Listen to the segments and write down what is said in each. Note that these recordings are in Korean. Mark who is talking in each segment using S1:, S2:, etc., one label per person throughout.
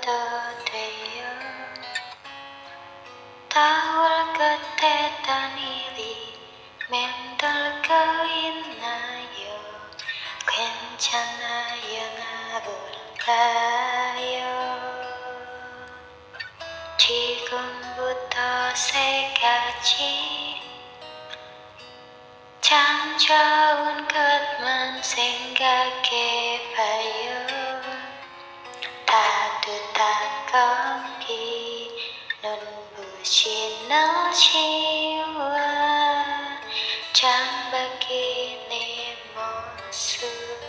S1: 되어 타올 끝에 단일이 맴돌고 있나요? 괜찮아요, 나볼까요? 지금부터 세 가지 참 좋은 것만 생각해봐요. 따뜻한 공기, 눈부신 날씨와 창밖의 내 모습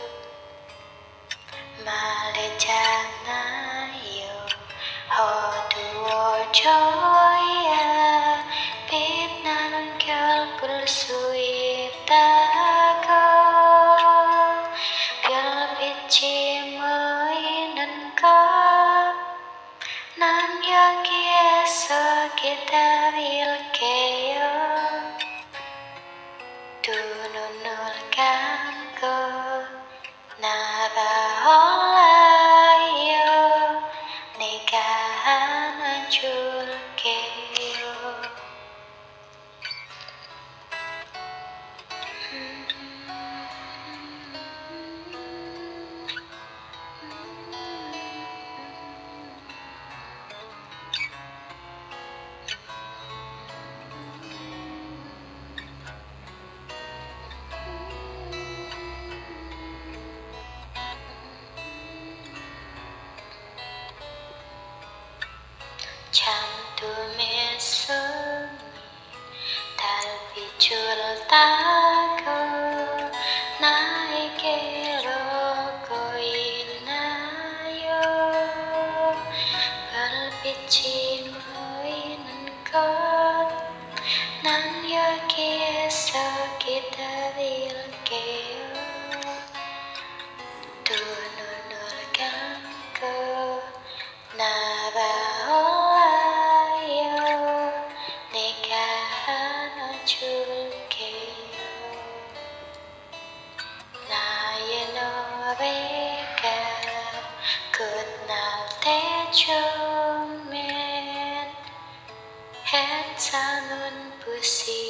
S1: 말했잖아요. 어두워져야 빛나는 별 볼 수 있다고. 별빛이 모이는 곳 난 여기에서 기다릴게요. 두 눈을 감고 나가올라요. 내가 안아줄게요. 잠둠의 숨이 달빛을 타고 나에게로 오고 있나요? 별빛이 모이는 곳 난 여기에서 기다릴게요. 두 눈을 감고 나가올라요. 내가 안아줄게요. 나의 노래가 끝날 때쯤엔 햇살 눈부시